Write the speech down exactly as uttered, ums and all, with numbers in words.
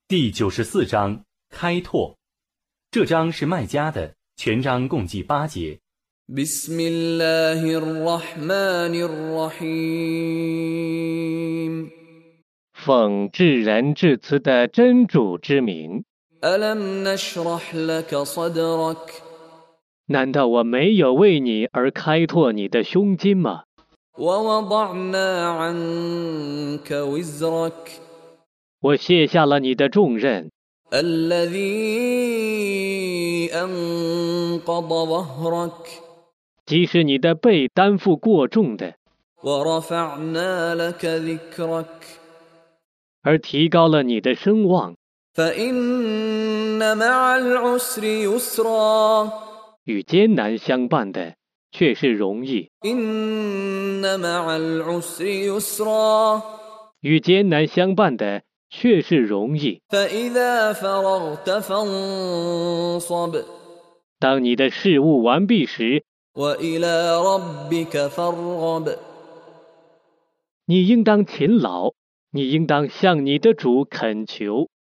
第九十四章开拓。这章是麦加的，全章共计八节。 بسم الله الرحمن الرحيم 奉至仁至慈的真主之名。 ألم نشرح لك صدرك 难道我没有为你而开拓你的胸襟吗？ ووضعنا عنك وزرك 我卸下了你的重任， الذي أنقض ظهرك 即使你的背担负过重的， ورفعنا لك ذكرك 而提高了你的声望。 فإن مع العسر يسرا 与艰难相伴的却是容易， إن مع العسر يسرا 与艰难相伴的却是容易。 فإذا فرغت فانصب 当你的事务完毕时， وإلى ربك فارغب 你应当勤劳，你应当向你的主恳求。